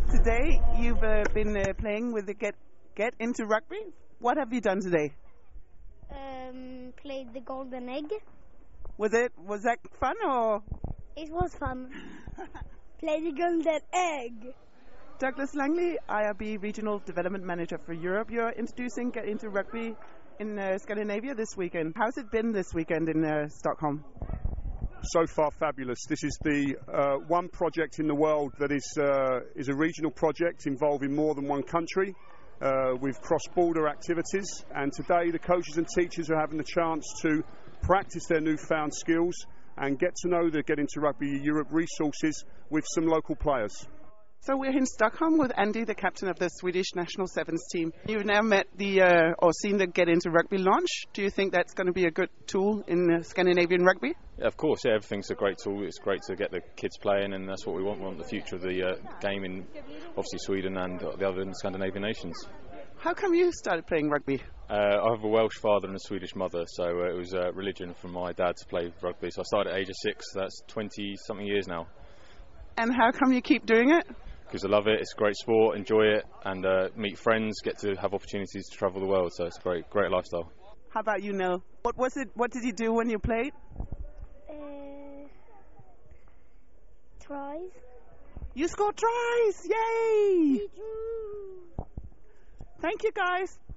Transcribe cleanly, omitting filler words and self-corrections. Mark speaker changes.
Speaker 1: Today you've been playing with the Get Into Rugby. What have you done today?
Speaker 2: Played the golden egg.
Speaker 1: Was that fun or?
Speaker 2: It was fun. Play the golden egg.
Speaker 1: Douglas Langley, IRB Regional Development Manager for Europe. You're introducing Get Into Rugby in Scandinavia this weekend. How's it been this weekend in Stockholm?
Speaker 3: So far fabulous. This is the one project in the world that is a regional project involving more than one country with cross-border activities, and today the coaches and teachers are having the chance to practice their newfound skills and get to know the Get Into Rugby Europe resources with some local players.
Speaker 1: So we're in Stockholm with Andy, the captain of the Swedish national sevens team. You've now met or seen the Get Into Rugby launch. Do you think that's going to be a good tool in Scandinavian rugby?
Speaker 4: Yeah, of course, yeah, everything's a great tool. It's great to get the kids playing, and that's what we want. We want the future of the game in, obviously, Sweden and the other Scandinavian nations.
Speaker 1: How come you started playing rugby?
Speaker 4: I have a Welsh father and a Swedish mother, so it was a religion from my dad to play rugby. So I started at the age of 6, that's 20-something years now.
Speaker 1: And how come you keep doing it?
Speaker 4: Because I love it, it's a great sport, enjoy it, and meet friends, get to have opportunities to travel the world, so it's a great lifestyle.
Speaker 1: How about you, Nell? What did you do when you played?
Speaker 2: Tries.
Speaker 1: You scored tries! Yay! Thank you, guys.